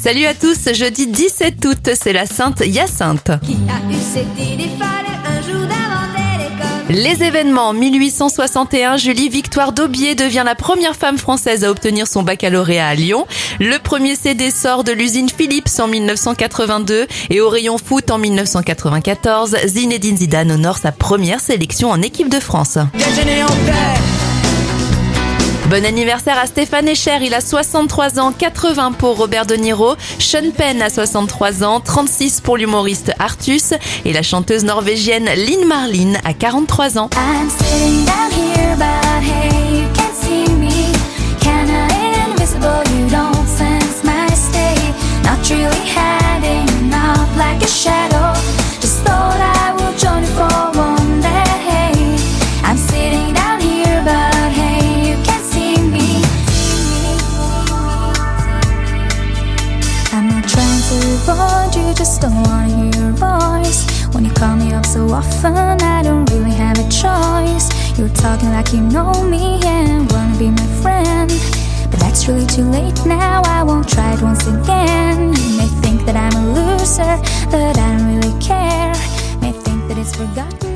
Salut à tous, jeudi 17 août, c'est la Sainte Hyacinthe. Qui a eu cette idée folle un jour d'inventer l'école? Les événements, 1861, Julie Victoire d'Aubier devient la première femme française à obtenir son baccalauréat à Lyon. Le premier CD sort de l'usine Philips en 1982 et au rayon foot en 1994, Zinedine Zidane honore sa première sélection en équipe de France. Déjeuner en paix. Bon anniversaire à Stéphane Escher, il a 63 ans, 80 pour Robert De Niro, Sean Penn a 63 ans, 36 pour l'humoriste Artus et la chanteuse norvégienne Linn Marlin a 43 ans. I'm sitting down here, but hey, you can't see me. Kinda invisible, you don't sense my state. Not really hiding out like a shadow. Just thought I would join you for one day. I'm sitting down here, but hey, you can't see me. I'm not trying to avoid you, just don't wanna hear your voice. When you call me up so often, I don't really have a choice. You're talking like you know me and wanna be my friend, but that's really too late now, I won't try it once again. You may think that I'm a loser, but I don't really care. May think that it's forgotten.